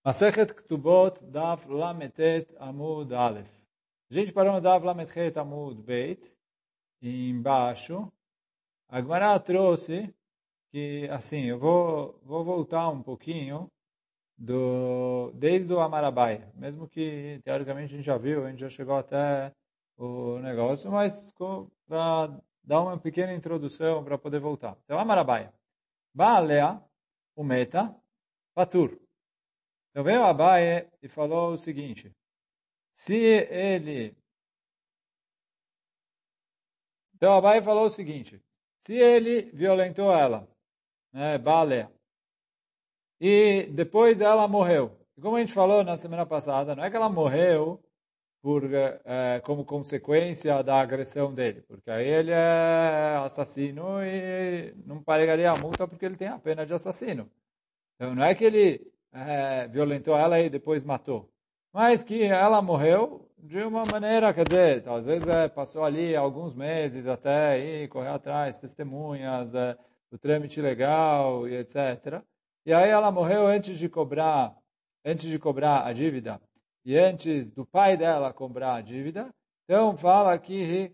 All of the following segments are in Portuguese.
Masechet Ktubot Daf Lametet Amud Aleph. A gente parou no Daf Lametet Amud Beit, embaixo. A Gemara trouxe que, assim, eu vou voltar um pouquinho desde o Amarabai, mesmo que, teoricamente, a gente já viu, a gente já chegou até o negócio, mas para dar uma pequena introdução para poder voltar. Então, Amarabai. Baalea, o Meta, Patur. Então veio Abaye e falou o seguinte, se ele... Então Abaye falou o seguinte, se ele violentou ela, né, Balea, e depois ela morreu. E como a gente falou na semana passada, não é que ela morreu como consequência da agressão dele, porque aí ele é assassino e não pagaria a multa porque ele tem a pena de assassino. Então não é que ele violentou ela e depois matou, mas que ela morreu de uma maneira, quer dizer, às vezes passou ali alguns meses até ir correr atrás, testemunhas, o trâmite legal e etc. E aí ela morreu antes de cobrar a dívida e antes do pai dela cobrar a dívida. Então fala que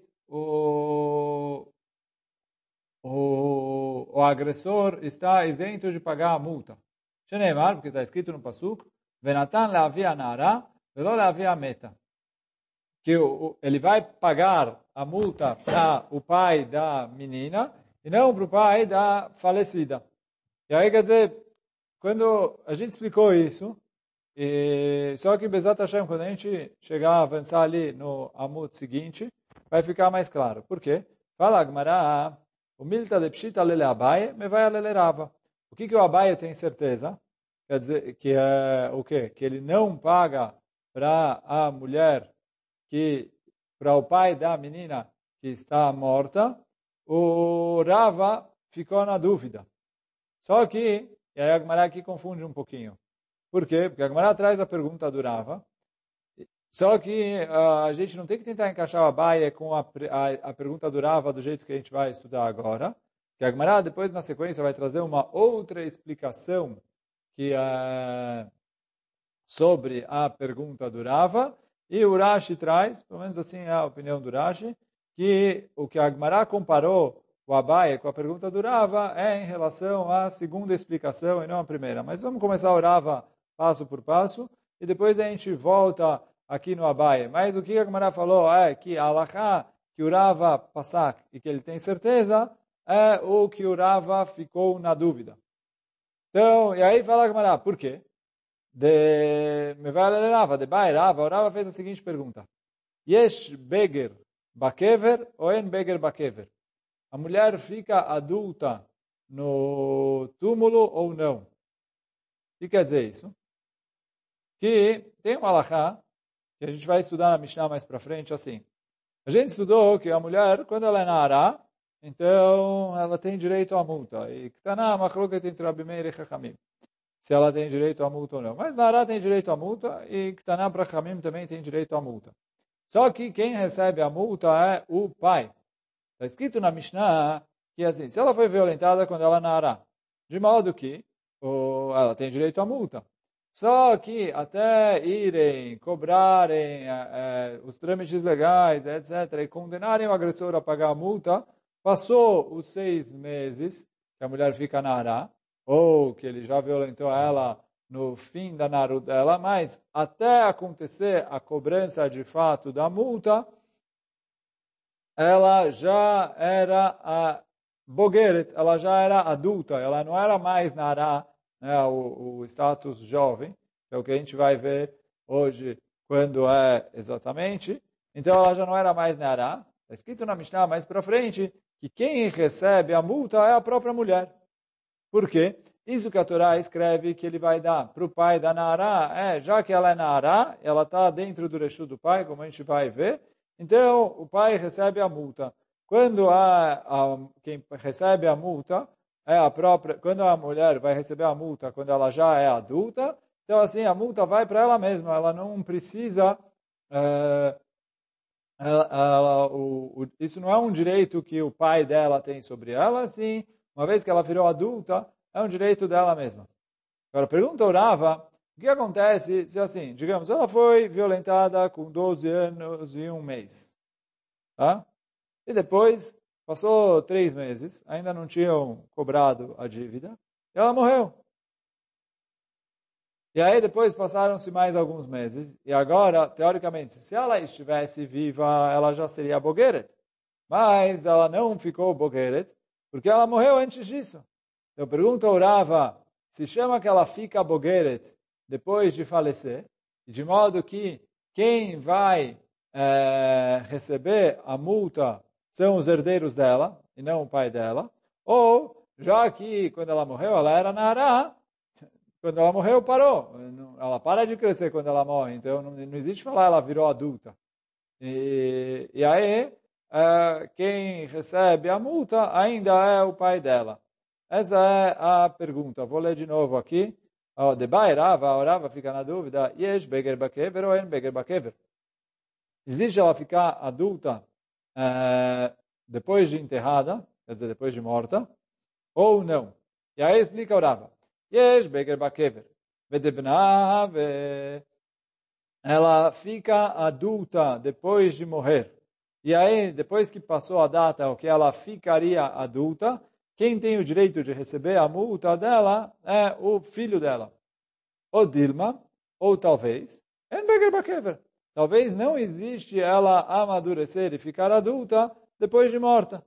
o agressor está isento de pagar a multa. Sheneimar, porque está escrito no Pasuk, Venatan leavia nara, velo leavia meta. Que ele vai pagar a multa para o pai da menina e não para o pai da falecida. E aí, quer dizer, quando a gente explicou isso, só que Bezat Hashem, quando a gente chegar a avançar ali no Amud seguinte, vai ficar mais claro. Por quê? Fala Agmará, o milta de pshita lele Abaye, me vai lele Rava. O que o Abaye tem certeza? Quer dizer, que é o quê? Que ele não paga para a mulher, para o pai da menina que está morta. O Rava ficou na dúvida. Só que, e aí a Agmará aqui confunde um pouquinho. Por quê? Porque a Gemara traz a pergunta do Rava. Só que a gente não tem que tentar encaixar o Abaye com a pergunta do Rava do jeito que a gente vai estudar agora. Que a Gemara depois, na sequência, vai trazer uma outra explicação que sobre a pergunta do Rava. E o Rashi traz, pelo menos assim é a opinião do Rashi, que o que a Gemara comparou o Abaye com a pergunta do Rava é em relação à segunda explicação e não à primeira. Mas vamos começar o Rava passo por passo, e depois a gente volta aqui no Abaye. Mas o que a Gemara falou é que a Halachá, que o Rava passak e que ele tem certeza, é o que o Rava ficou na dúvida. Então, e aí fala a Gemara, por quê? Me vai ler Rava, de Bai Rava, o Rava fez a seguinte pergunta. Yesh beger bakever ou en beger bakever? A mulher fica adulta no túmulo ou não? O que quer dizer isso? Que tem uma halachá, que a gente vai estudar na Mishnah mais para frente, assim. A gente estudou que a mulher, quando ela é nara, então ela tem direito à multa. E que está na machloket entre Rabi Meir e Chachamim. Se ela tem direito à multa ou não. Mas nara tem direito à multa e que está na Chachamim também tem direito à multa. Só que quem recebe a multa é o pai. Está escrito na Mishnah que assim, se ela foi violentada quando ela é nara, de modo que ela tem direito à multa. Só que até irem, cobrarem os trâmites legais, etc., e condenarem o agressor a pagar a multa, passou os 6 meses que a mulher fica nara, ou que ele já violentou ela no fim da naru dela, mas até acontecer a cobrança de fato da multa, ela já era a bogeret, ela já era adulta, ela não era mais nara, né, o status jovem, que é o que a gente vai ver hoje quando é exatamente. Então ela já não era mais nara. Está escrito na Mishnah mais para frente que quem recebe a multa é a própria mulher. Por quê? Isso que a Torá escreve que ele vai dar para o pai da Nara, já que ela é Nara, ela está dentro do Reshut do pai, como a gente vai ver, então o pai recebe a multa. Quando quem recebe a multa é a própria, quando a mulher vai receber a multa quando ela já é adulta, então assim a multa vai para ela mesma, ela não precisa, isso não é um direito que o pai dela tem sobre ela, assim, uma vez que ela virou adulta, é um direito dela mesma. Agora, pergunta o Rava, O que acontece se assim, digamos, ela foi violentada com 12 anos e um mês, tá? E depois, passou 3 meses, ainda não tinham cobrado a dívida, e ela morreu. E aí depois passaram-se mais alguns meses, e agora, teoricamente, se ela estivesse viva, ela já seria Bogeret. Mas ela não ficou Bogeret, porque ela morreu antes disso. Então pergunta ao Rava, se chama que ela fica Bogeret depois de falecer, de modo que quem vai receber a multa são os herdeiros dela, e não o pai dela, ou, já que quando ela morreu, ela era Nará, quando ela morreu, parou. Ela para de crescer quando ela morre, então não existe falar ela virou adulta. E aí, quem recebe a multa ainda é o pai dela. Essa é a pergunta. Vou ler de novo aqui. Debai Rava, Rava fica na dúvida. Yesh beger bakever ou en beger bakever? Existe ela ficar adulta depois de enterrada, quer dizer, depois de morta, ou não? E aí explica o Rava. Yesh beger bakever. Vedebna ela fica adulta depois de morrer. E aí, depois que passou a data, o que ela ficaria adulta, quem tem o direito de receber a multa dela é o filho dela. Ou Dilma, ou talvez, talvez não existe ela amadurecer e ficar adulta depois de morta.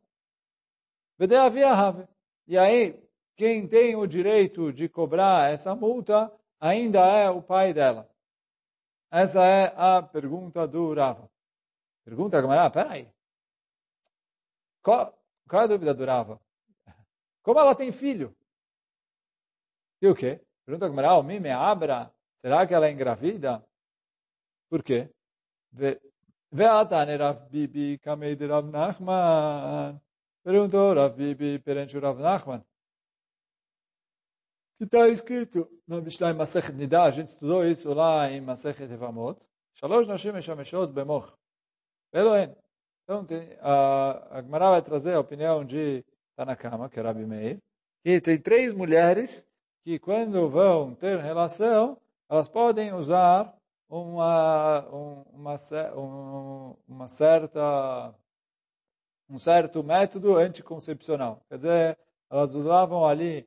E aí, quem tem o direito de cobrar essa multa ainda é o pai dela. Essa é a pergunta do Rava. Pergunta a Gamara, peraí. Qual é a dúvida do Rava? Como ela tem filho? E o quê? Pergunta a Gamara, o mime abra, será que ela é engravida? Por quê? Ve'atane Rav Bibi kamei de Rav Nachman. Perguntou Rav Bibi perante o Rav Nachman. Que está escrito no Mishnah em Masechet Nida, a gente estudou isso lá em Masechet Evamot. Shalosh Nashim Meshameshot Bemoch. Elohim. Então, a Gemara vai trazer a opinião de Tanakama, que é Rabi Meir, que tem 3 mulheres que quando vão ter relação, elas podem usar um certo método anticoncepcional. Quer dizer, elas usavam ali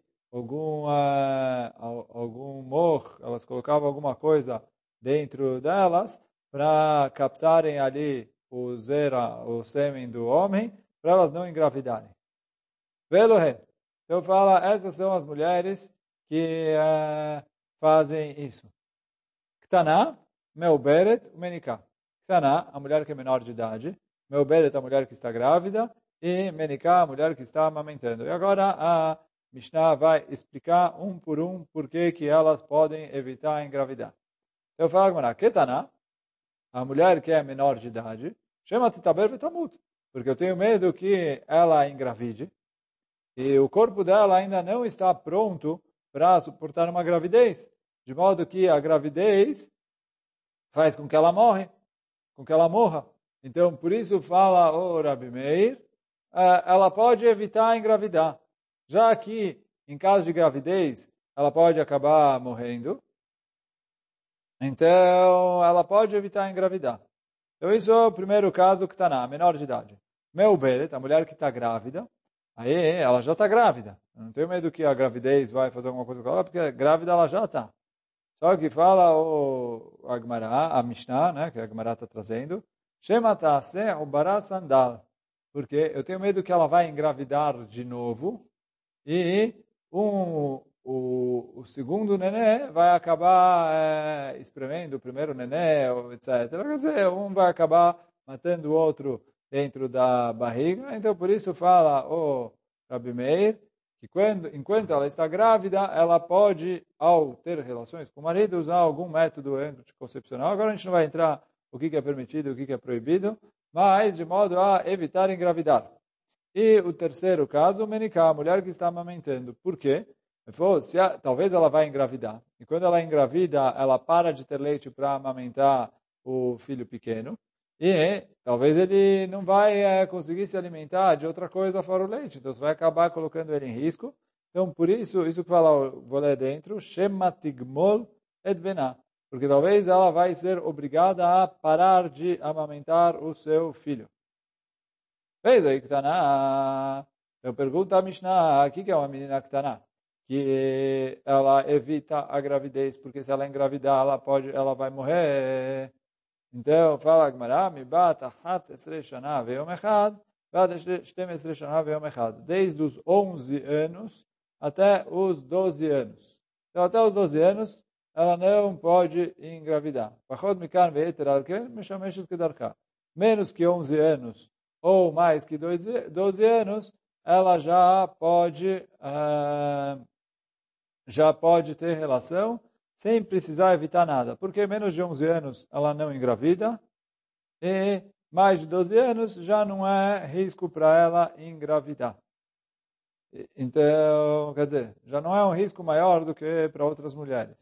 algum mor, elas colocavam alguma coisa dentro delas para captarem ali o sêmen do homem, para elas não engravidarem. Velohe. Então fala, essas são as mulheres que fazem isso. Ktaná, Meuberet, Menikah. Ktaná, a mulher que é menor de idade. Meuberet, a mulher que está grávida. E Menikah, a mulher que está amamentando. E agora a Mishnah vai explicar um por um por que elas podem evitar engravidar. Então fala, Gemara, Ktaná, a mulher que é menor de idade, chama Titaber Vetamut, porque eu tenho medo que ela engravide e o corpo dela ainda não está pronto para suportar uma gravidez, de modo que a gravidez faz com que ela morra. Então, por isso fala o Rabi Meir, ela pode evitar engravidar, já que em caso de gravidez ela pode acabar morrendo, então ela pode evitar engravidar. Então, isso é o primeiro caso que está na menor de idade. Meuberet, a mulher que está grávida, aí ela já está grávida. Eu não tenho medo que a gravidez vai fazer alguma coisa com ela, porque grávida ela já está. Só que fala a Gemara, a Mishnah, né, que a Gemara está trazendo, Shema ta'aseh ubara sandal, porque eu tenho medo que ela vai engravidar de novo e o segundo nenê vai acabar espremendo o primeiro nenê, etc. Quer dizer, um vai acabar matando o outro dentro da barriga. Então, por isso fala o Rabi Meir que enquanto ela está grávida, ela pode, ao ter relações com o marido, usar algum método anticoncepcional. Agora a gente não vai entrar o que é permitido e o que é proibido, mas de modo a evitar engravidar. E o terceiro caso, Menikah, a mulher que está amamentando. Por quê? Talvez ela vai engravidar. E quando ela engravida, ela para de ter leite para amamentar o filho pequeno. E talvez ele não vai conseguir se alimentar de outra coisa fora o leite. Então, você vai acabar colocando ele em risco. Então, por isso que fala, vou ler dentro, Shema Tigmol et bená. Porque talvez ela vai ser obrigada a parar de amamentar o seu filho. Fez aí, Ktaná. Eu pergunto a Mishnah, o que é uma menina Ktaná? Que ela evita a gravidez, porque se ela engravidar, ela vai morrer. Então, fala Agmará, Mibat Ahat Esrei Shana Veyom Echad, Bad Shtem Esrei Shana Veyom Echad. Desde os 11 anos até os 12 anos. Então, até os 12 anos, ela não pode engravidar. Pachod Mikan Ve'eter Alken, Meshameshet Kedarka. Menos que 11 anos ou mais que 12 anos, ela já pode ter relação sem precisar evitar nada. Porque menos de 11 anos ela não engravida e mais de 12 anos já não é risco para ela engravidar. Então, quer dizer, já não é um risco maior do que para outras mulheres.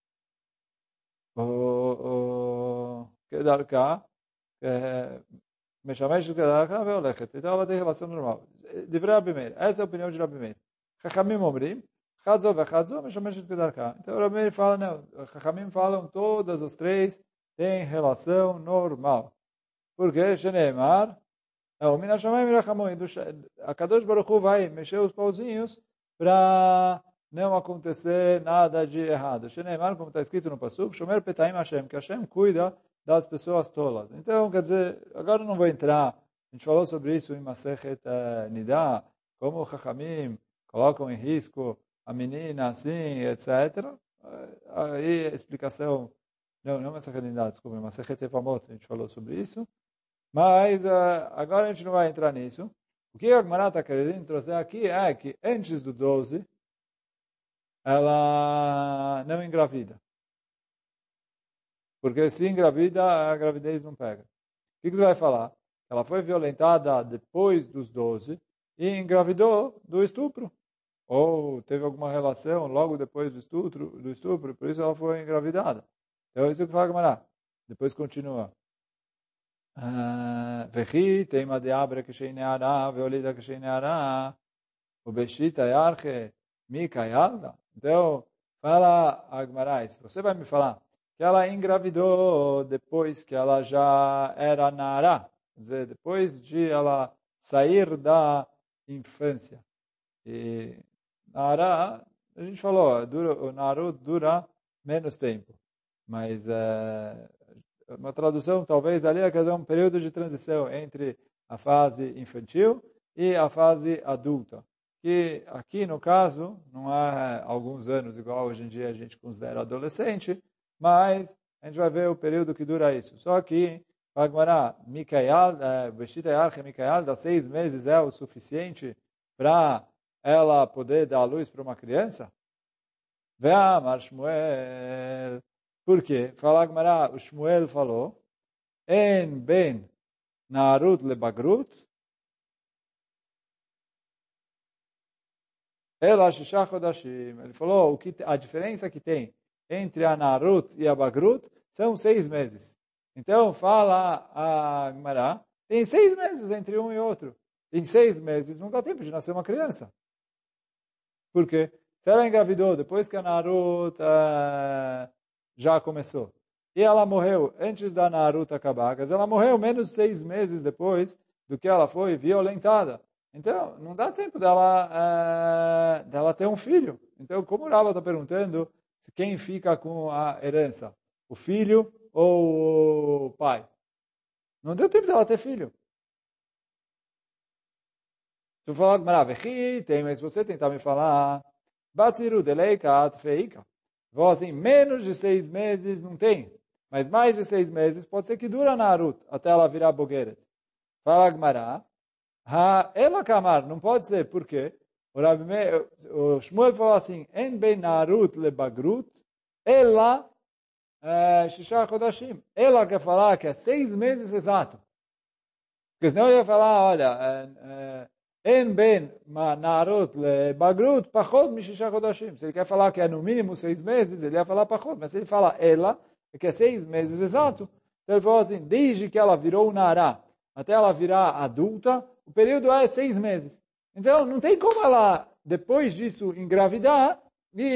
Kedarka, Meshamesh Kedarka veolechet. Então ela tem relação normal. Divrei Rabi Meir. Essa é a opinião de Rabi Meir. Chachamim omrim, Chadzo vechadzo, Meshameshet Kedarka. Então Rabi Meir fala, não. Chachamim falam, todas as três têm relação normal. Por quê? Sheneemar, o Minashamayim Rachamon, a Kadosh Baruch Hu vai mexer os pauzinhos para não acontecer nada de errado. Sheneemar, como está escrito no Pasuk, Shomer Petaim Hashem, que Hashem cuida das pessoas tolas. Então, quer dizer, agora eu não vou entrar, a gente falou sobre isso em Masechet Nidá, como o Chachamim colocam em risco a menina assim, etc. Aí a explicação, não Masechet Nidá, desculpa, Masechet Evamot, a gente falou sobre isso. Mas agora a gente não vai entrar nisso. O que a Gemara está querendo trazer aqui é que antes do 12, ela não engravida. Porque se engravida, a gravidez não pega. O que você vai falar? Ela foi violentada depois dos 12 e engravidou do estupro. Ou teve alguma relação logo depois do estupro, por isso ela foi engravidada. Então, isso que fala a Gemara. Depois continua. וכי תימא דאברה כשהיא נערה והולידה כשהיא נערה ובשיטה ירחה מיקה ילדה. Então, fala a Agmará, se você vai me falar que ela engravidou depois que ela já era nara, quer dizer, depois de ela sair da infância. E nara, a gente falou, o narut dura menos tempo, mas uma tradução talvez ali é que é um período de transição entre a fase infantil e a fase adulta. Que aqui no caso não há alguns anos, igual hoje em dia a gente considera adolescente, mas a gente vai ver o período que dura isso. Só que, Agmará, Beshita Yarche Mikael, dá 6 meses é o suficiente para ela poder dar luz para uma criança? Ve'amar Shmuel. Por quê? Fala Agmará, o Shmuel falou, En ben narut lebagrut, ela shisha chodashim. Ele falou, a diferença que tem entre a narut e a bagrut são 6 meses. Então, fala a Agmará, tem 6 meses entre um e outro. Em 6 meses não dá tempo de nascer uma criança. Por quê? Se ela engravidou depois que a narut já começou. E ela morreu antes da Narut acabar. Ela morreu menos de 6 meses depois do que ela foi violentada. Então, não dá tempo dela ter um filho. Então, como o Rava está perguntando, quem fica com a herança? O filho ou o pai? Não deu tempo dela ter filho. Se eu falar, mas você tentar me falar, Batsiru deleikat feika. Vou assim, menos de 6 meses não tem. Mas mais de 6 meses pode ser que dura a Narut até ela virar Bogeret. Fala Agmará. Ela Kamar, não pode ser. Por quê? O Shmuel falou assim, En ben Narut le Bagrut, ela Shisha Chodashim. Ela quer falar que é 6 meses exato. Porque senão ele ia falar, olha, En ben narut le bagrut pachot mishisha chodashim. Se ele quer falar que é no mínimo 6 meses, ele ia falar pachot. Mas se ele fala ela, que é 6 meses exato, então ele falou assim, desde que ela virou nará até ela virar adulta, o período é 6 meses. Então não tem como ela, depois disso, engravidar e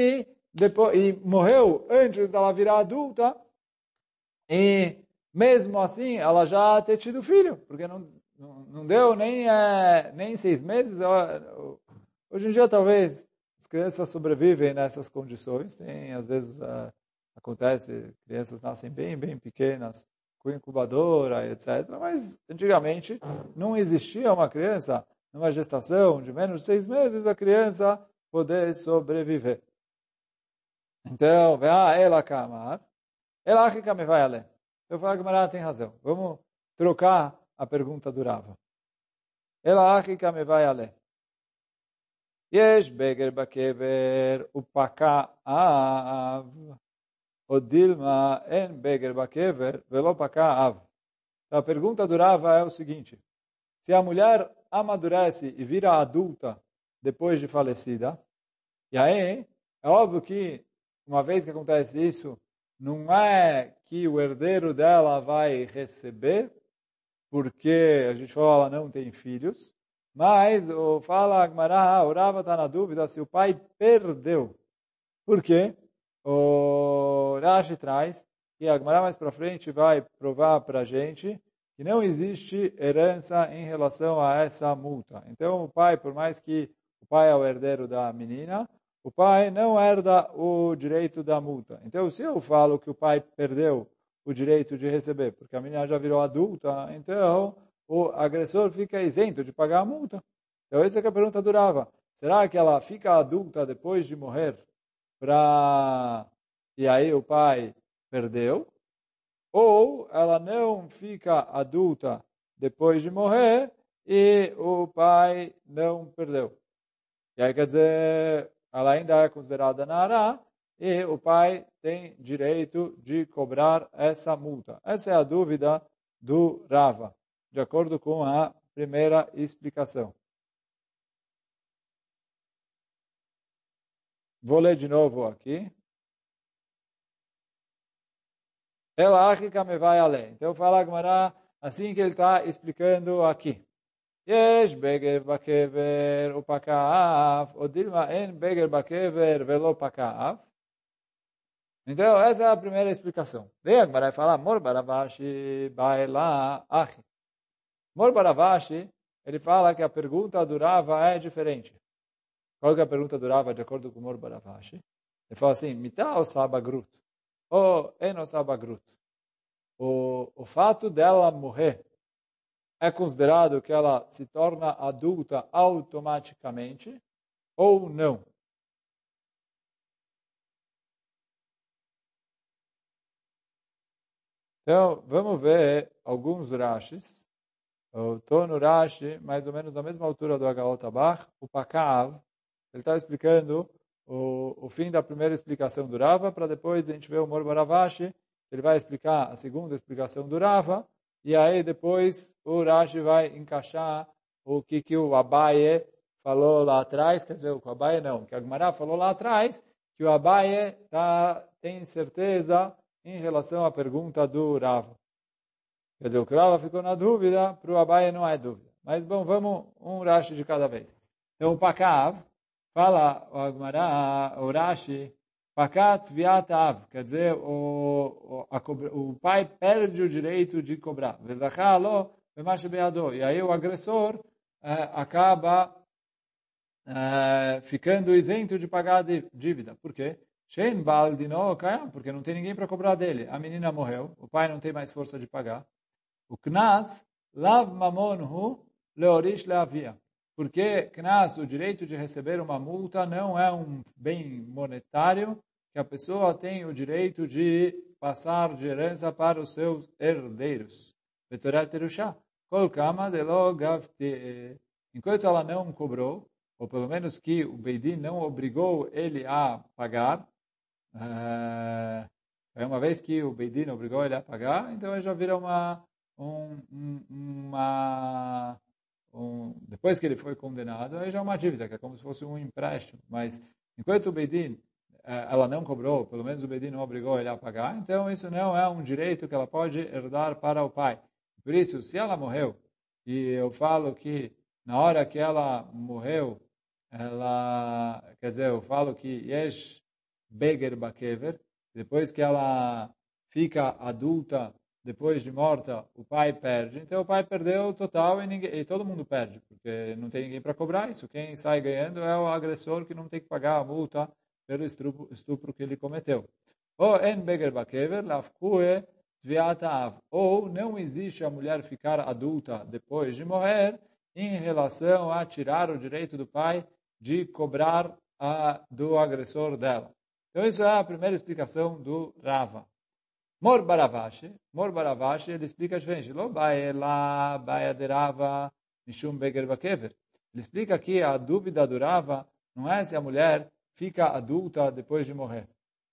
depois, e morreu antes dela virar adulta, e mesmo assim ela já ter tido filho, porque não deu nem 6 meses. Hoje em dia talvez as crianças sobrevivem nessas condições, tem às vezes acontece, crianças nascem bem pequenas, com incubadora, etc. Mas antigamente não existia uma criança numa gestação de menos de 6 meses, a criança poder sobreviver. Então, ela camar, ela que me vai além. Eu falo que Mará tem razão. Vamos trocar a pergunta do Rava. Ela que me vai além. Yesh beger bakever upaka av. O Dilma en beger bakever velo paka av. Então, a pergunta do Rava é o seguinte. Se a mulher amadurece e vira adulta depois de falecida, e aí é óbvio que uma vez que acontece isso, não é que o herdeiro dela vai receber, porque a gente falou, ela não tem filhos, mas fala Agmará, o Rava está na dúvida se o pai perdeu. Por quê? O Rashi traz, e a Agmará mais para frente vai provar para a gente, que não existe herança em relação a essa multa. Então o pai, por mais que o pai é o herdeiro da menina, o pai não herda o direito da multa. Então, se eu falo que o pai perdeu o direito de receber, porque a menina já virou adulta, então o agressor fica isento de pagar a multa. Então, essa é a pergunta do Rava. Será que ela fica adulta depois de morrer e aí o pai perdeu? Ou ela não fica adulta depois de morrer e o pai não perdeu? E aí quer dizer, ela ainda é considerada Nará e o pai tem direito de cobrar essa multa. Essa é a dúvida do Rava, de acordo com a primeira explicação. Vou ler de novo aqui. Ela ágica me vai além. Então fala Agmará assim que ele está explicando aqui. Yesh beger bakever upakaaf, o dilma en beger bakever velo pakaaf. Então, essa é a primeira explicação. Daí Agmará fala, Mor Baravashi baela achi. Mor Baravashi, ele fala que a pergunta do Rava é diferente. Qual que é a pergunta do Rava de acordo com Mor Baravashi? Ele fala assim, Mitá ou Sabagrut? Ou Eno Sabagrut? O fato dela morrer é considerado que ela se torna adulta automaticamente ou não? Então, vamos ver alguns Rashis. Eu estou no Rashi, mais ou menos na mesma altura do Agalot Abach, o Pakav. Ele está explicando o fim da primeira explicação do Rava, para depois a gente ver o Mor Baravashi, ele vai explicar a segunda explicação do Rava, e aí depois o Rashi vai encaixar o que o Abaye falou lá atrás, quer dizer, o Abaye não, que a Gemara falou lá atrás, que o Abaye tem certeza em relação à pergunta do Rava. Quer dizer, o Rava ficou na dúvida, para o Abaye não é dúvida. Mas, bom, vamos um Rashi de cada vez. Então, o Pakav, fala o Agmará, o Rashi, Pakat viatav, quer dizer, o pai perde o direito de cobrar. Vezachalo, beado. E aí o agressor acaba ficando isento de pagar a dívida. Por quê? Shein baldino kayam, porque não tem ninguém para cobrar dele. A menina morreu, o pai não tem mais força de pagar. O Knas, lav mamonhu leorish leavia. Porque Knas, o direito de receber uma multa, não é um bem monetário que a pessoa tem o direito de passar de herança para os seus herdeiros. Enquanto ela não cobrou, ou pelo menos que o Beidin não obrigou ele a pagar, uma vez que o Beidin obrigou ele a pagar, então ele já vira depois que ele foi condenado, aí já é uma dívida, que é como se fosse um empréstimo. Mas enquanto o Beidin, ela não cobrou, pelo menos o Beidin não obrigou ele a pagar, então isso não é um direito que ela pode herdar para o pai. Por isso, se ela morreu, e eu falo que na hora que ela morreu, quer dizer, eu falo que beger bakever, depois que ela fica adulta, depois de morta, o pai perde. Então o pai perdeu o total e todo mundo perde, porque não tem ninguém para cobrar isso. Quem sai ganhando é o agressor que não tem que pagar a multa pelo estupro que ele cometeu. Ou en beger bakever, lafkue tviat av. Ou não existe a mulher ficar adulta depois de morrer em relação a tirar o direito do pai de cobrar do agressor dela. Então isso é a primeira explicação do Rava. Mor Baravashi, ele explica diferente. Lo bae la baia de Rava mishum beger bakever. Ele explica que a dúvida do Rava não é se a mulher fica adulta depois de morrer.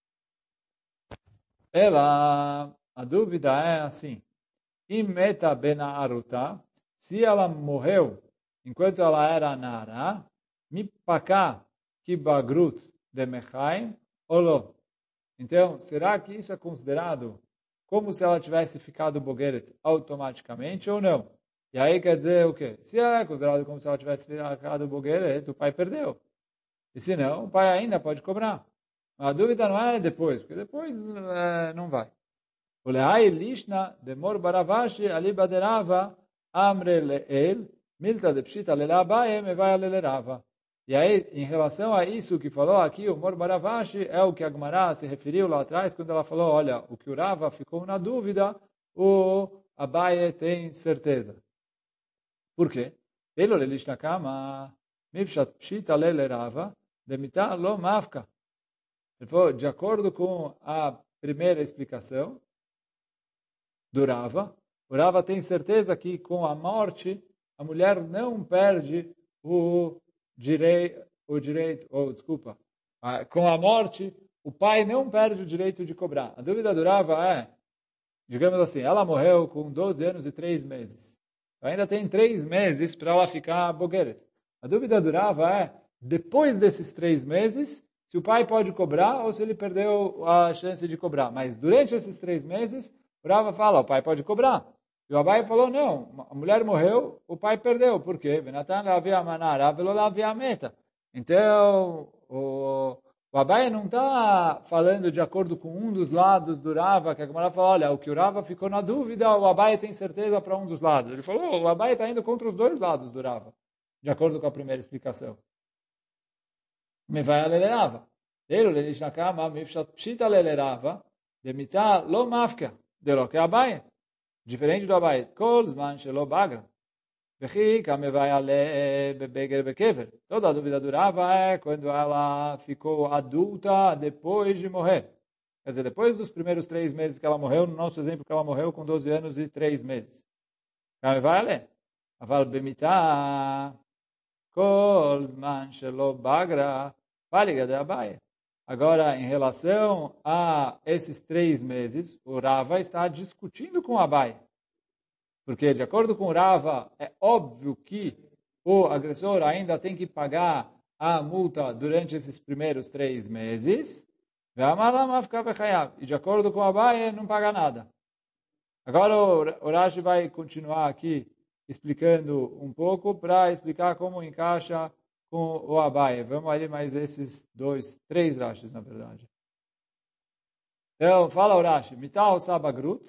A dúvida é assim. Imeta benaaruta, se ela morreu enquanto ela era nara, mipaka kibagrut de mechaim, olô. Então, será que isso é considerado como se ela tivesse ficado bogeret automaticamente ou não? E aí quer dizer o quê? Se é considerado como se ela tivesse ficado bogeret, o pai perdeu. E se não, o pai ainda pode cobrar. A dúvida não é depois, porque depois não vai. O leai lishna demor baravashi ali baderava amre leel milta de pshita lelabae me vai alerava. E aí, em relação a isso que falou aqui, o Mor Baravashi é o que a Gemara se referiu lá atrás, quando ela falou, olha, o que o Rava ficou na dúvida, o Abaye tem certeza. Por quê? Ele lelish na cama, mipshat pshita lele Rava, demita lo mafka. Ele falou, de acordo com a primeira explicação do Rava, o Rava tem certeza que com a morte, a mulher não perde o direito, com a morte, o pai não perde o direito de cobrar. A dúvida do Rava é, digamos assim, ela morreu com 12 anos e 3 meses. Ainda tem 3 meses para ela ficar bogeret. A dúvida do Rava é, depois desses 3 meses, se o pai pode cobrar ou se ele perdeu a chance de cobrar. Mas durante esses 3 meses, o Rava fala, o pai pode cobrar. E o Abai falou, não, a mulher morreu, o pai perdeu. Por quê? Então, o Abai não está falando de acordo com um dos lados do Rava, que a Gemara fala, olha, o que o Rava ficou na dúvida, o Abai tem certeza para um dos lados. Ele falou, o Abai está indo contra os dois lados do Rava, de acordo com a primeira explicação. Me vai alerava. Ele diz na cama, mifshat pshita alerava, demita lo mafka, de lo que Abai. Diferente do Abai, kol zman shelo bagra. Vechi kamevai ale bebeger bekever. Toda a dúvida durava é quando ela ficou adulta depois de morrer. Quer dizer, depois dos primeiros 3 meses que ela morreu, no nosso exemplo que ela morreu com 12 anos e 3 meses. Kamevai ale. Aval bemita kol zman shelo bagra. Paliga de Abai. Agora, em relação a esses 3 meses, o Rava está discutindo com Abai. Porque, de acordo com o Rava, é óbvio que o agressor ainda tem que pagar a multa durante esses primeiros 3 meses. E, de acordo com Abai, não paga nada. Agora, o Rashi vai continuar aqui explicando um pouco para explicar como encaixa com o Abai. Vamos ali mais esses 3 Rashis, na verdade. Então, fala o Rashi. Mital sabagrut.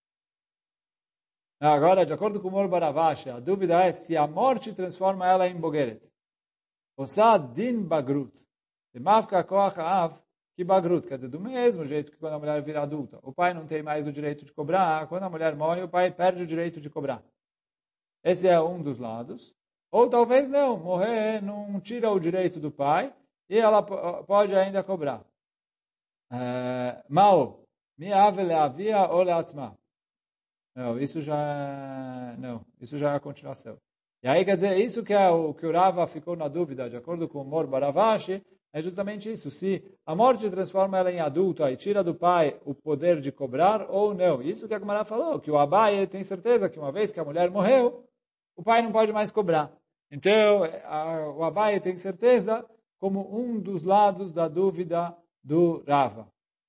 Agora, de acordo com o Mor Baravashi, a dúvida é se a morte transforma ela em bogeret. Osa din bagrut. Mafka koach av que bagrut. Quer dizer, do mesmo jeito que quando a mulher vira adulta, o pai não tem mais o direito de cobrar. Quando a mulher morre, o pai perde o direito de cobrar. Esse é um dos lados. Ou talvez não, morrer não tira o direito do pai e ela pode ainda cobrar. Mal, mi ave leavia ou leatzma. Não, isso já é a continuação. E aí quer dizer, isso que é o que o Rava ficou na dúvida, de acordo com o Mor Baravashi, é justamente isso. Se a morte transforma ela em adulta e tira do pai o poder de cobrar ou não. Isso que a Gemara falou, que o Abai tem certeza que uma vez que a mulher morreu, o pai não pode mais cobrar. Então, o Abai tem certeza como um dos lados da dúvida do Rava.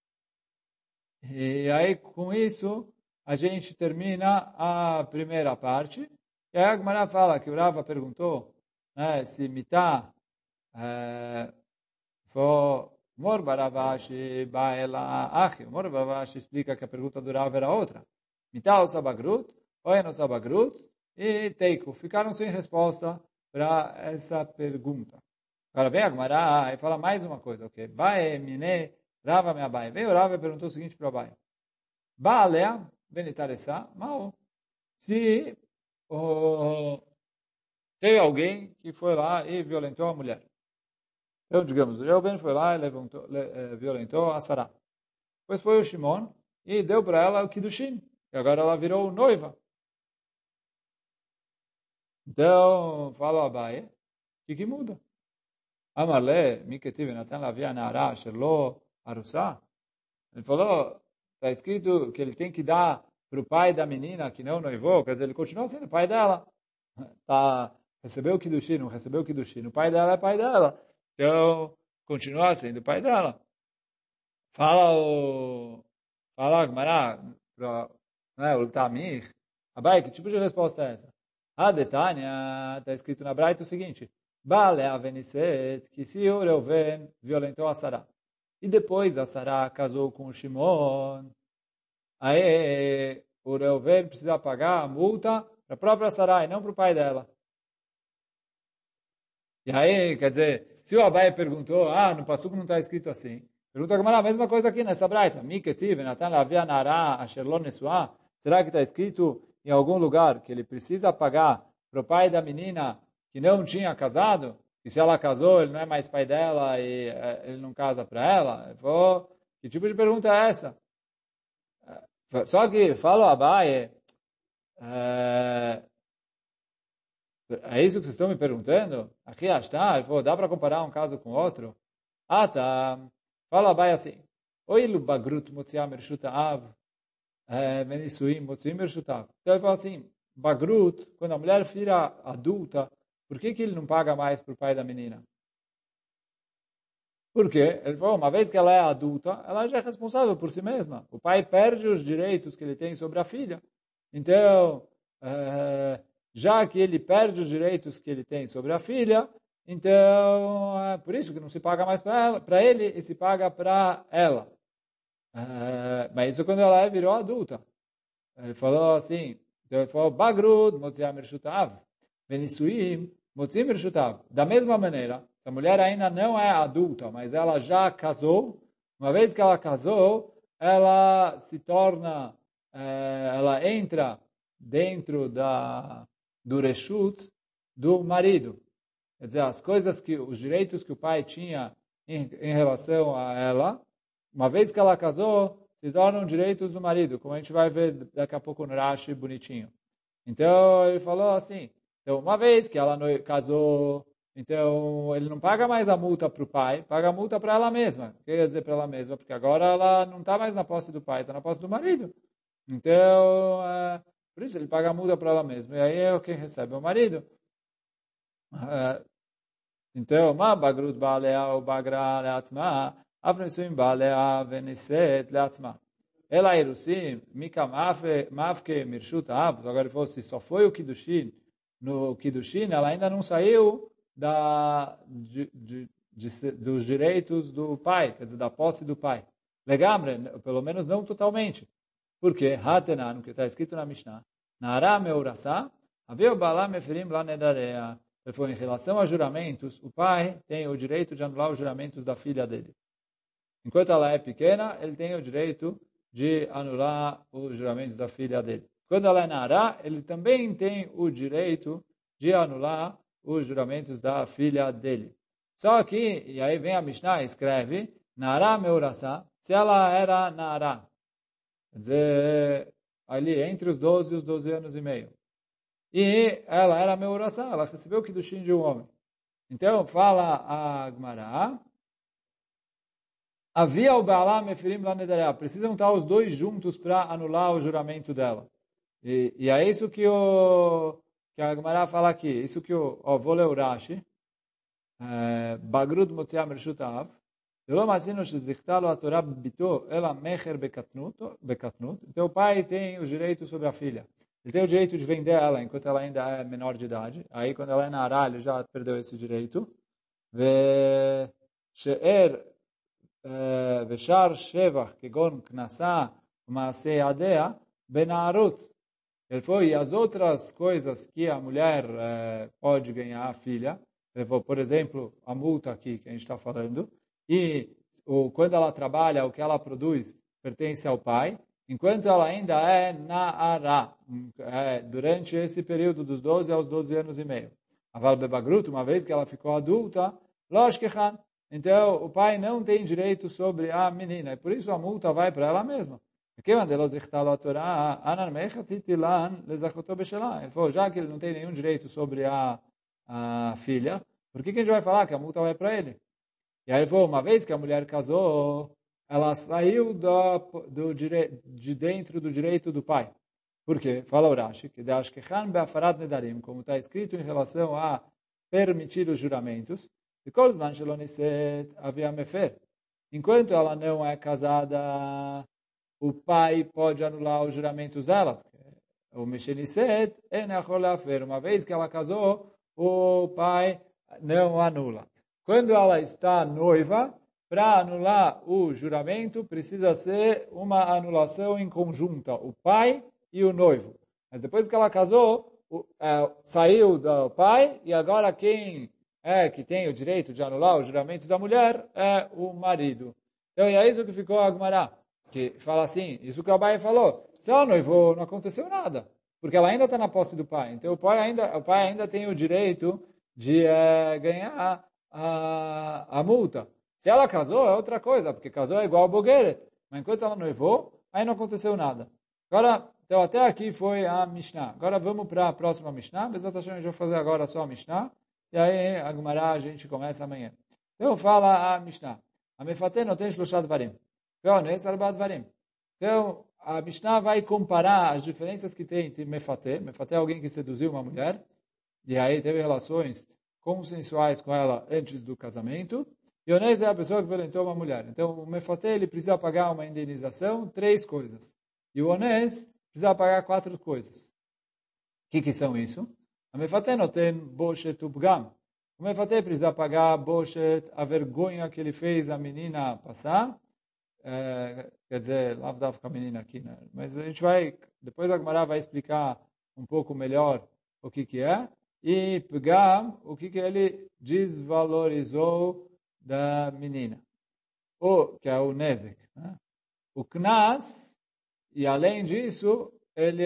E aí, com isso, a gente termina a primeira parte. E aí a Gemara fala que o Rava perguntou se mitá for Mor Baravashi Baela Achi. Mor Baravashi explica que a pergunta do Rav era outra. Mital Sabagrut, Oeno Sabagrut e Teiko. Ficaram sem resposta para essa pergunta. Agora vem a Gemara e fala mais uma coisa. Ok? Bae Mine Rava me Abai. Veio o Rav e perguntou o seguinte para o Abai. Baalea Benitaressa Mao. Se teve alguém que foi lá e violentou a mulher. Então, digamos, o Reuben foi lá e violentou a Sará. Depois foi o Shimon e deu para ela o Kiddushin. E agora ela virou noiva. Então, fala o Abaye, o que muda? Amarle, Miketiv, Natan Lavia Nara, Sherlo, Arussá. Ele falou, está escrito que ele tem que dar para o pai da menina que não noivou, quer dizer, ele continua sendo pai dela. Recebeu o Kiddushin, não recebeu o Kiddushin. O pai dela é pai dela. Então, continua sendo pai dela. Fala a Gemara, o Tamir. Abai, que tipo de resposta é essa? A Detânia, está escrito na Braita o seguinte. Bale aveniset, que se o Reuven violentou a Sará. E depois a Sará casou com o Shimon. Aí o Reuven precisa pagar a multa para a própria Sará e não para o pai dela. E aí, quer dizer, se o Abai perguntou, no Passuco não está escrito assim, pergunta a mesma coisa aqui nessa braita. Miketiv, Natan Lavia Nara, Asherlon Nesuá. Será que está escrito em algum lugar que ele precisa pagar para o pai da menina que não tinha casado? E se ela casou, ele não é mais pai dela e ele não casa para ela? Que tipo de pergunta é essa? Só que, fala o Abai, é isso que vocês estão me perguntando? Aqui está, dá para comparar um caso com outro? Tá. Fala Abai assim. Oilu bagrut motziam ershuta av, menisuim motziim ershuta av. Então ele fala assim, bagrut, quando a mulher vira adulta, por que ele não paga mais para o pai da menina? Por quê? Ele falou, uma vez que ela é adulta, ela já é responsável por si mesma. O pai perde os direitos que ele tem sobre a filha. Então, já que ele perde os direitos que ele tem sobre a filha, então é por isso que não se paga mais para ele e se paga para ela. Mas isso quando ela virou adulta. Ele falou assim, então ele falou, Bagrud, Motziam Ershutav, Venisuim, Motziam Ershutav. Da mesma maneira, se a mulher ainda não é adulta, mas ela já casou, uma vez que ela casou, ela se torna, ela entra dentro do reshut do marido. Quer dizer, as coisas os direitos que o pai tinha em relação a ela, uma vez que ela casou, se tornam direitos do marido, como a gente vai ver daqui a pouco no Rashi bonitinho. Então, ele falou assim, então, uma vez que ela casou, então, ele não paga mais a multa para o pai, paga a multa para ela mesma. O que quer dizer para ela mesma? Porque agora ela não está mais na posse do pai, está na posse do marido. Então, por isso ele paga a multa para ela mesma. E aí é quem recebe o marido. Então, ma bagrut baalea ou bagra leatzma, afnesuim baalea veniset leatzma. Ela irusim, mika mafke mirshut av. Agora ele falou, se só foi o Kiddushin, no Kiddushin, ela ainda não saiu dos direitos do pai, quer dizer, da posse do pai. Legamre, pelo menos não totalmente. Porque, hatenan, que está escrito na Mishnah, Nara meurasá, havia o balá meferim lá nedarea. Ele falou, em relação a juramentos, o pai tem o direito de anular os juramentos da filha dele. Enquanto ela é pequena, ele tem o direito de anular os juramentos da filha dele. Quando ela é Nara, ele também tem o direito de anular os juramentos da filha dele. Só que, e aí vem a Mishnah e escreve, Nara meurasá, se ela era Nara, quer dizer, ali entre os 12 e os 12 anos e meio. E ela era meurasá, ela recebeu o Kiddushin de um homem. Então, fala a Gemara, havia o Baalá mefirim lá nedareá. Precisam estar os dois juntos para anular o juramento dela. E é isso que a Gemara fala aqui. Isso que vou ler o Rashi. Bagrud motziam reshutav. Então o pai tem os direitos sobre a filha. Ele tem o direito de vender ela enquanto ela ainda é menor de idade. Aí quando ela é Nara, ele já perdeu esse direito. Veshar Shevach, Kegon Knassá, Maaseh Adea, Benarut. Ele falou, e as outras coisas que a mulher pode ganhar, a filha, ele falou, por exemplo, a multa aqui que a gente está falando, e quando ela trabalha, o que ela produz pertence ao pai, enquanto ela ainda é Na'ara, durante esse período dos 12 aos 12 anos e meio. Aval Bebagrut, uma vez que ela ficou adulta, Loshkechan, então o pai não tem direito sobre a menina, e por isso a multa vai para ela mesma. Ele falou, já que ele não tem nenhum direito sobre a filha, por que a gente vai falar que a multa vai para ele? E aí ele falou, uma vez que a mulher casou, ela saiu de dentro do direito do pai. Por quê? Fala o Rashi, que como está escrito em relação a permitir os juramentos, enquanto ela não é casada, o pai pode anular os juramentos dela. O Mesheniset uma vez que ela casou, o pai não anula. Quando ela está noiva, para anular o juramento, precisa ser uma anulação em conjunta, o pai e o noivo. Mas depois que ela casou, saiu do pai, e agora quem que tem o direito de anular os juramentos da mulher é o marido. Então, é isso que ficou a Agmará, que fala assim, isso que o Abai falou, se ela noivou, não aconteceu nada, porque ela ainda está na posse do pai. Então, o pai ainda tem o direito de ganhar a multa. Se ela casou, é outra coisa, porque casou é igual ao Bogueret. Mas enquanto ela noivou, aí não aconteceu nada. Agora, então até aqui foi a Mishnah. Agora vamos para a próxima Mishnah. Bezat Hashem, a gente vai fazer agora só a Mishnah. E aí, a Gemara, a gente começa amanhã. Então fala a Mishnah. A Mefateh não tem Shloshad Varim. Então, a Mishnah vai comparar as diferenças que tem entre Mefateh. Mefateh é alguém que seduziu uma mulher. E aí teve relações consensuais com ela antes do casamento. E Onés é a pessoa que violentou uma mulher. Então, o Mefateh, ele precisa pagar uma indenização, 3 coisas. E o Onés precisa pagar 4 coisas. O que são isso? A Mefateh não tem Boshet Ubgam. O Mefateh precisa pagar Boshet, a vergonha que ele fez a menina passar. Quer dizer, lavdava com a menina aqui, né? Mas a gente vai, depois a Gemara vai explicar um pouco melhor o que é. E Pgam, o que ele desvalorizou da menina, que é o Nezek. Né? O Knas, e além disso, ele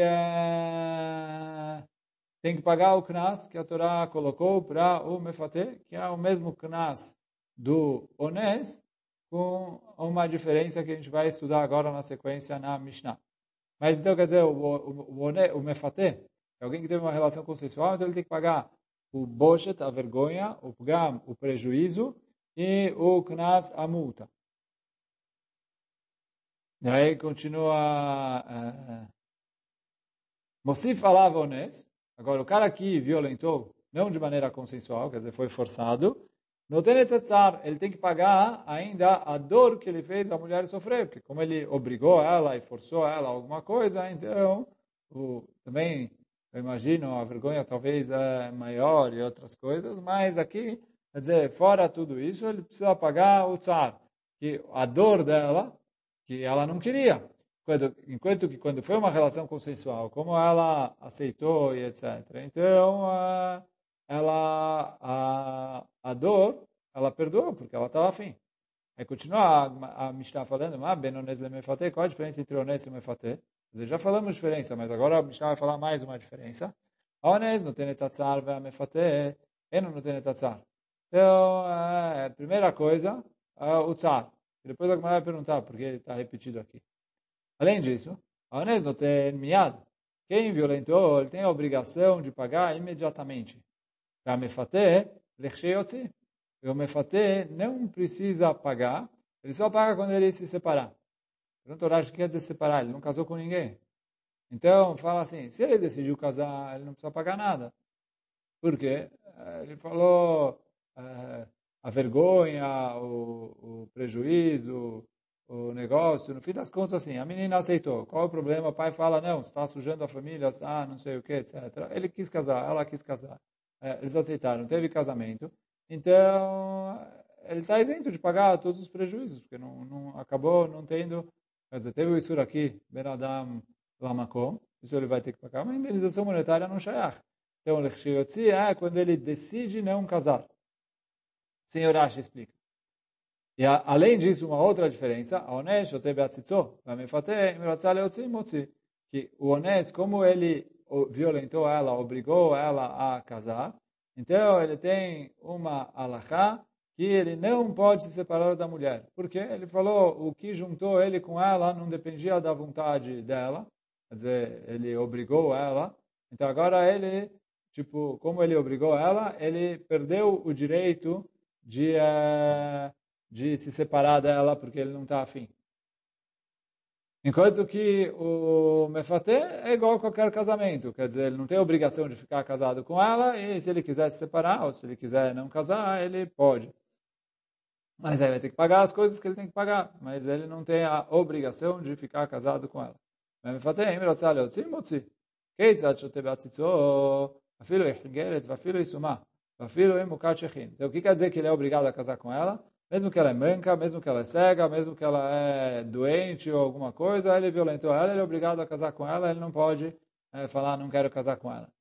tem que pagar o Knas que a Torá colocou para o Mefateh, que é o mesmo Knas do Onés, com uma diferença que a gente vai estudar agora na sequência na Mishnah. Mas então, quer dizer, o Mefateh, é alguém que teve uma relação consensual, então ele tem que pagar o Boshet, a vergonha, o Pgam, o prejuízo, e o Knas, a multa. E aí continua... Mosif falava Onés. Agora, o cara que violentou, não de maneira consensual, quer dizer, foi forçado, não tem necessário, ele tem que pagar ainda a dor que ele fez a mulher sofrer, porque como ele obrigou ela e forçou ela a alguma coisa, então, também, eu imagino, a vergonha talvez é maior e outras coisas, mas aqui, quer dizer, fora tudo isso, ele precisa pagar o tsar, que a dor dela, que ela não queria. Enquanto que quando foi uma relação consensual, como ela aceitou e etc. Então, a dor, ela perdoou, porque ela estava afim. Aí continua a Mishnah falando, qual a diferença entre Onés e Mefateh? Já falamos diferença, mas agora a Mishnah vai falar mais uma diferença. Onés não tem etatzar, e a Mefateh não tem etatzar. Então, a primeira coisa, o tzar. Depois a Gemara vai perguntar, porque está repetido aqui. Além disso, a Onés não tem miad. Quem violentou, ele tem a obrigação de pagar imediatamente. A Mefateh, lecheyotzi. E o Mefateh não precisa pagar, ele só paga quando ele se separar. Pergunta o Rashi, o que quer dizer separar? Ele não casou com ninguém. Então, fala assim, se ele decidiu casar, ele não precisa pagar nada. Por quê? Ele falou a vergonha, o prejuízo, o negócio, no fim das contas, assim, a menina aceitou. Qual é o problema? O pai fala, não, você está sujando a família, está não sei o que, etc. Ele quis casar, ela quis casar. Eles aceitaram, teve casamento. Então, ele está isento de pagar todos os prejuízos, porque não acabou não tendo, quer dizer, teve o Isur aqui, Ben Adam Lamakom, isso ele vai ter que pagar, mas a indenização monetária não shayach. Então, Lechshiyotzi é quando ele decide não casar. Senhor Rashi explica. E além disso, uma outra diferença, que o honesto, como ele violentou ela, obrigou ela a casar, então ele tem uma alahá que ele não pode se separar da mulher. Porque ele falou, o que juntou ele com ela não dependia da vontade dela, quer dizer, ele obrigou ela, então agora ele, tipo, como ele obrigou ela, ele perdeu o direito de se separar dela porque ele não está afim. Enquanto que o mefatê é igual a qualquer casamento, quer dizer, ele não tem obrigação de ficar casado com ela e se ele quiser se separar ou se ele quiser não casar, ele pode. Mas aí vai ter que pagar as coisas que ele tem que pagar, mas ele não tem a obrigação de ficar casado com ela. mefatê, אם רוצה להוציא, מוציא. כיצד שותה בעציצו, אפילו יחגרת ואפילו יסומה. Então, o que quer dizer que ele é obrigado a casar com ela? Mesmo que ela é manca, mesmo que ela é cega, mesmo que ela é doente ou alguma coisa, ele violentou ela, ele é obrigado a casar com ela, ele não pode falar, não quero casar com ela.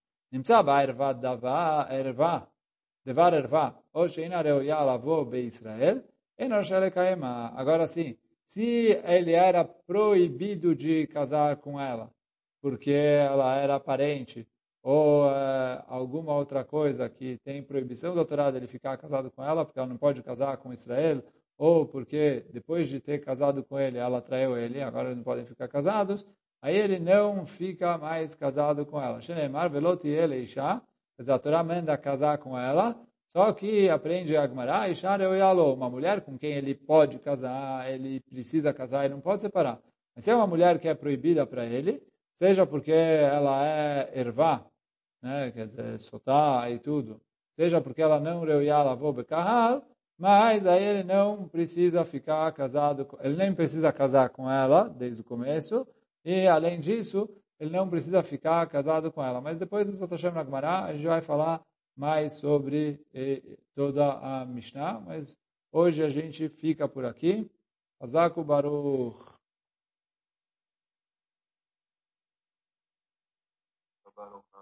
Agora sim, se ele era proibido de casar com ela, porque ela era parente, ou alguma outra coisa que tem proibição da Torá dele ficar casado com ela, porque ela não pode casar com Israel, ou porque depois de ter casado com ele, ela traiu ele, agora eles não podem ficar casados, aí ele não fica mais casado com ela. Shenemar veloti ele isha, quer dizer, a Torá manda casar com ela, só que aprende a Gemara, isha reuyalo, uma mulher com quem ele pode casar, ele precisa casar, ele não pode separar. Mas se é uma mulher que é proibida para ele, seja porque ela é ervá, né, quer dizer, sotá e tudo, seja porque ela não reuiá lavou bekahal, mas aí ele não precisa ficar casado, ele nem precisa casar com ela desde o começo, e além disso, ele não precisa ficar casado com ela. Mas depois do Sot Hashem na Gemara, a gente vai falar mais sobre toda a Mishnah, mas hoje a gente fica por aqui. Hazaku Baruch.